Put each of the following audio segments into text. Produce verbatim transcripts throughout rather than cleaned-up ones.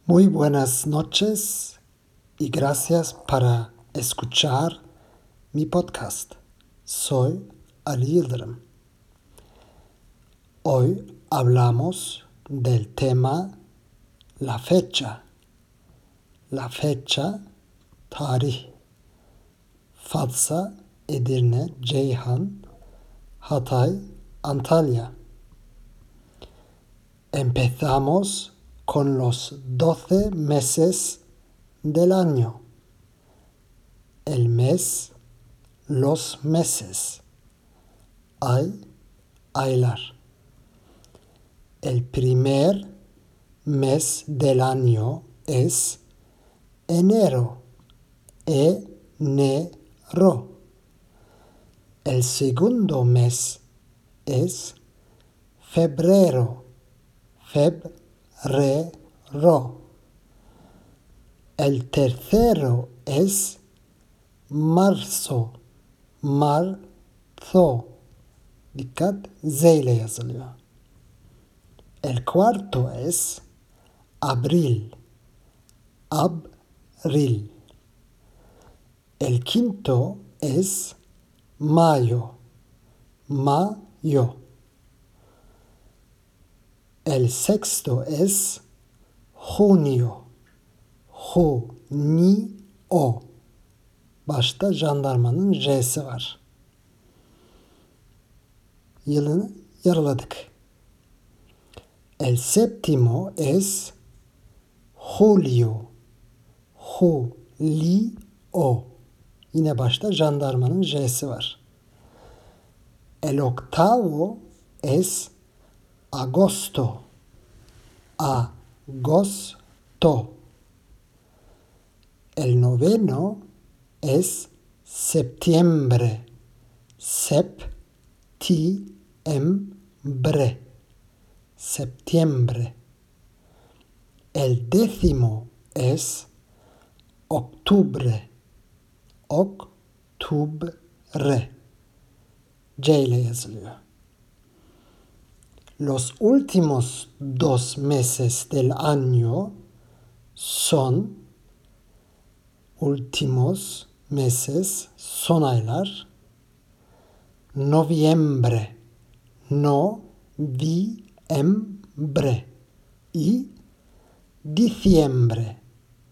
Muy buenas noches y gracias para escuchar mi podcast. Soy Ali Yıldırım. Hoy hablamos del tema la fecha. La fecha, tarih. Fatsa, Edirne, Ceyhan, Hatay, Antalya. Empezamos con los doce meses del año. El mes, los meses. Ay, aylar. El primer mes del año es enero. Enero. El segundo mes es febrero. Febrero. El tercero es marzo. Marzo. Dikkat, Z ile yazılıyor. El cuarto es abril. Abril. El quinto es mayo. Mayo. El sexto es junio. Junio. Başta jandarmanın J'si var. Yılını yarıladık. El séptimo es julio. Julio. Yine başta jandarmanın J'si var. El octavo es agosto. Agosto. El noveno es septiembre. Septiembre. Septiembre. El décimo es octubre. Octubre. C ile yazılıyor. Los últimos dos meses del año son últimos meses, son aylar. Noviembre. Noviembre. Y diciembre.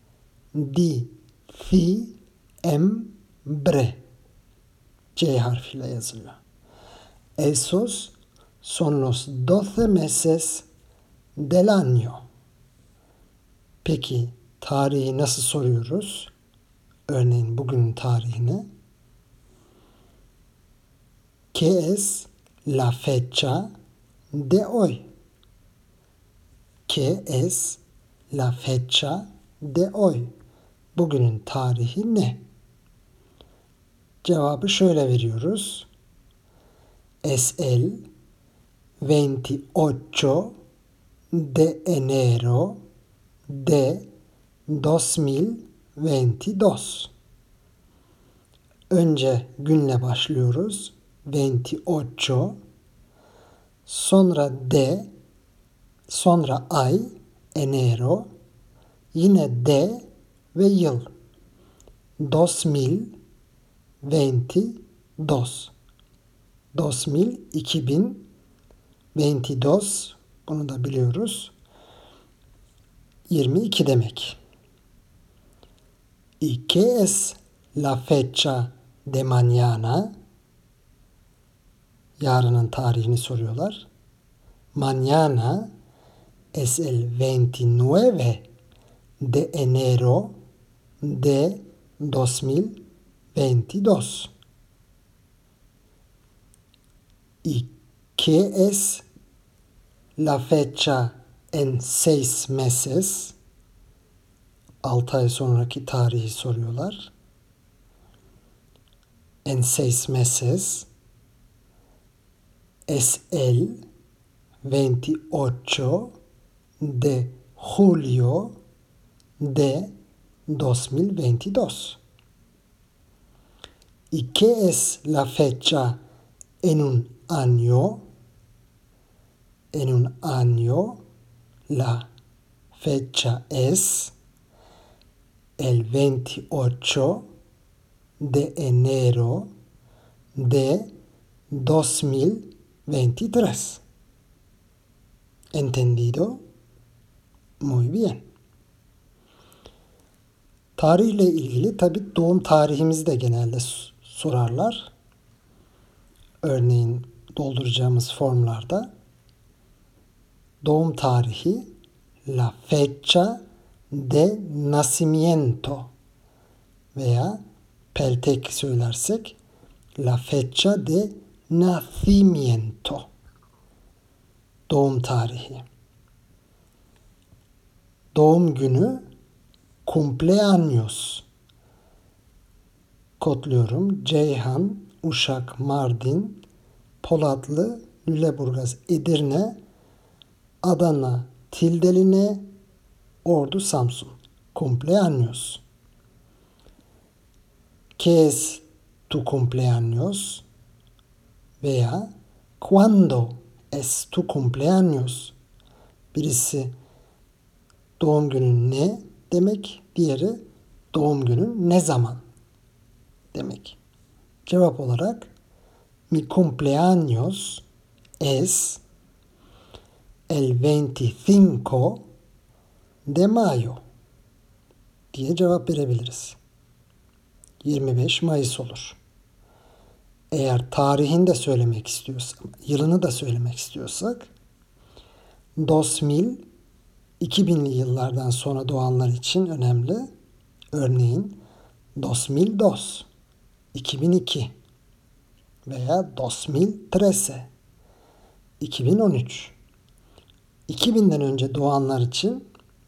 Diciembre. C harfiyle yazılıyor. Esos son los doce meses del año. Peki tarihi nasıl soruyoruz? Örneğin bugünün tarihini. ¿Qué es la fecha de hoy? ¿Qué es la fecha de hoy? Bugünün tarihi ne? Cevabı şöyle veriyoruz. Es el veintiocho de enero de dos mil veintidós. Önce günle başlıyoruz. veintiocho. Sonra de. Sonra ay. Enero. Yine de ve yıl. dos mil veintidós. dos mil, iki bin, veintidós, bunu da biliyoruz. yirmi iki demek. ¿Y qué es la fecha de mañana? Yarının tarihini soruyorlar. Mañana es el veintinueve de enero de dos mil veintidós. ¿Y qué es la fecha en seis meses? altı ay sonraki tarihi soruyorlar. En seis meses es el veintiocho de julio de dos mil veintidós. ¿Y qué es la fecha en un año? En un año, la fecha es el veintiocho de enero de dos mil veintitrés. ¿Entendido? Muy bien. Tarihle ilgili tabii doğum tarihimizi de genelde sorarlar. Örneğin dolduracağımız formlarda doğum tarihi la fecha de nacimiento veya peltek söylersek la fecha de nacimiento. Doğum tarihi. Doğum günü cumpleaños. Kodluyorum. Ceyhan, Uşak, Mardin, Polatlı, Lüleburgaz, Edirne, Adana, Tildeline, Ordu, Samsun. Cumpleaños. ¿Qué es tu cumpleaños? Veya ¿cuándo es tu cumpleaños? Birisi doğum günün ne demek, diğeri doğum günün ne zaman demek. Cevap olarak mi cumpleaños es el veinticinco de mayo diye cevap verebiliriz. yirmi beş Mayıs olur. Eğer tarihini de söylemek istiyorsak, yılını da söylemek istiyorsak dos mil iki binli yıllardan sonra doğanlar için önemli. Örneğin dos mil dos, iki bin iki veya dos mil trece, iki bin on üç. iki binden önce doğanlar için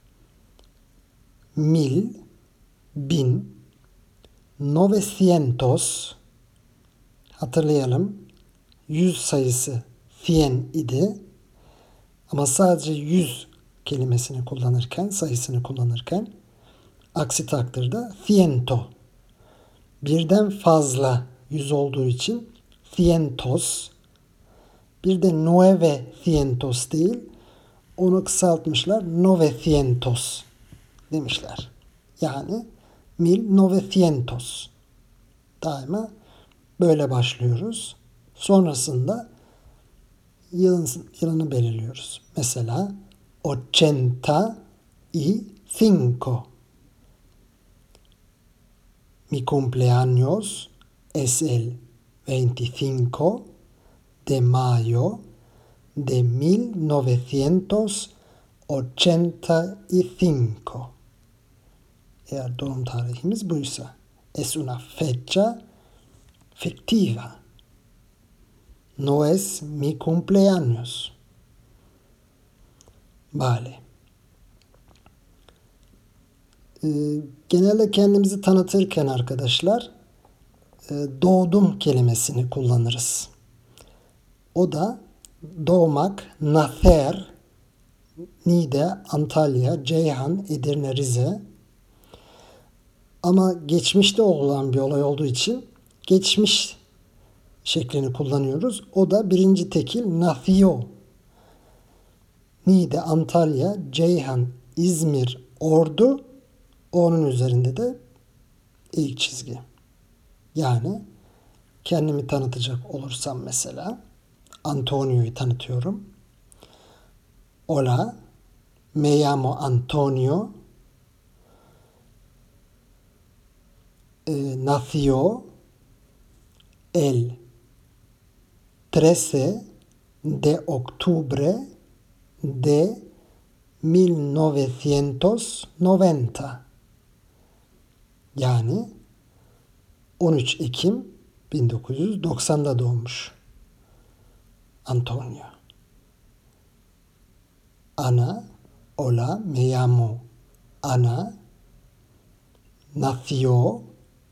mil, bin, novecientos, hatırlayalım, yüz sayısı cien idi ama sadece yüz kelimesini kullanırken, sayısını kullanırken aksi takdirde ciento. Birden fazla yüz olduğu için cientos. Bir de novecientos değil, onu kısaltmışlar, novecientos demişler. Yani mil novecientos. Daima böyle başlıyoruz. Sonrasında yılın, yılını belirliyoruz. Mesela ochenta y cinco. Mi cumpleaños es el veinticinco de mayo de mil novecientos ochenta y cinco. Eğer doğum tarihimiz buysa. Es una fecha fictiva. No es mi cumpleaños. Vale. Ee, genelde kendimizi tanıtırken arkadaşlar e, doğdum kelimesini kullanırız. O da doğmak, nacer, Niğde, Antalya, Ceyhan, Edirne, Rize. Ama geçmişte olan bir olay olduğu için geçmiş şeklini kullanıyoruz. O da birinci tekil nació. Niğde, Antalya, Ceyhan, İzmir, Ordu. Onun üzerinde de ilk çizgi. Yani kendimi tanıtacak olursam mesela Antonio'yu tanıtıyorum. Hola, me llamo Antonio. Eh, nació el trece de octubre de mil novecientos noventa. Yani on üç Ekim bin dokuz yüz doksanda doğmuş Antonio. Ana, hola, me llamo Ana. Nació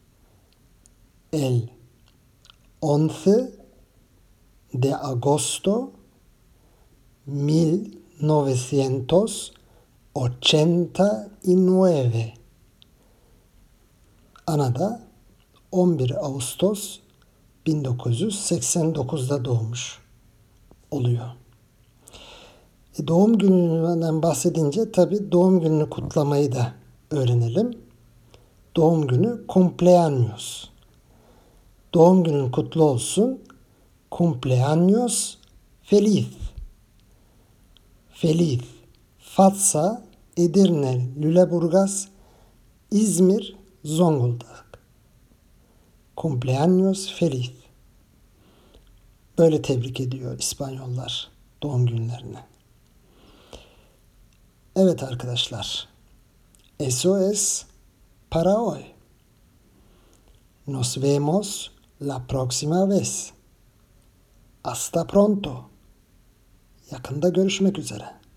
el once de agosto mil novecientos ochenta y nueve. Ana da on bir Ağustos bin dokuz yüz seksen dokuzda doğmuş oluyor. E, doğum gününden bahsedince tabii doğum gününü kutlamayı da öğrenelim. Doğum günü cumpleaños. Doğum günün kutlu olsun. Cumpleaños feliz. Feliz. Fatsa, Edirne, Lüleburgaz, İzmir, Zonguldak. Cumpleaños feliz. Böyle tebrik ediyor İspanyollar doğum günlerini. Evet arkadaşlar. Eso es para hoy. Nos vemos la próxima vez. Hasta pronto. Yakında görüşmek üzere.